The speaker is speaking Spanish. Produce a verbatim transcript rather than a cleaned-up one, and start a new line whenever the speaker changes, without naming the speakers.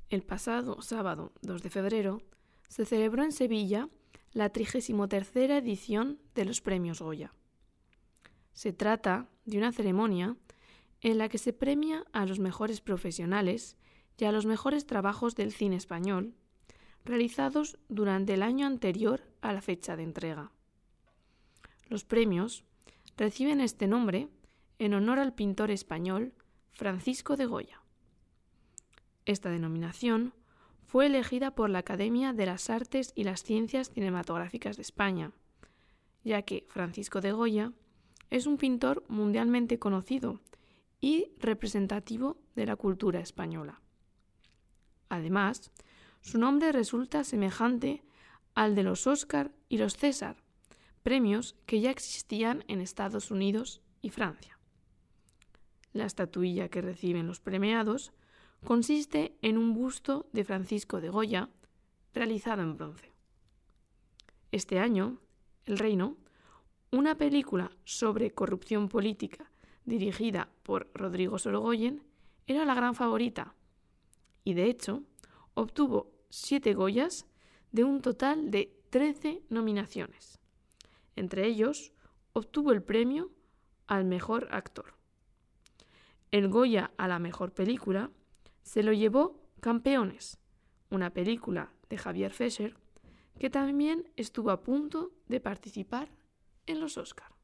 El pasado sábado dos de febrero se celebró en Sevilla la trigésima tercera edición de los Premios Goya. Se trata de una ceremonia en la que se premia a los mejores profesionales y a los mejores trabajos del cine español realizados durante el año anterior a la fecha de entrega. Los premios reciben este nombre en honor al pintor español Francisco de Goya. Esta denominación fue elegida por la Academia de las Artes y las Ciencias Cinematográficas de España, ya que Francisco de Goya es un pintor mundialmente conocido y representativo de la cultura española. Además, su nombre resulta semejante al de los Óscar y los César, premios que ya existían en Estados Unidos y Francia. La estatuilla que reciben los premiados consiste en un busto de Francisco de Goya realizado en bronce. Este año, El Reino, una película sobre corrupción política dirigida por Rodrigo Sorogoyen, era la gran favorita y, de hecho, obtuvo siete Goyas de un total de trece nominaciones. Entre ellos, obtuvo el premio al mejor actor. El Goya a la mejor película se lo llevó Campeones, una película de Javier Fesser que también estuvo a punto de participar en los Óscar.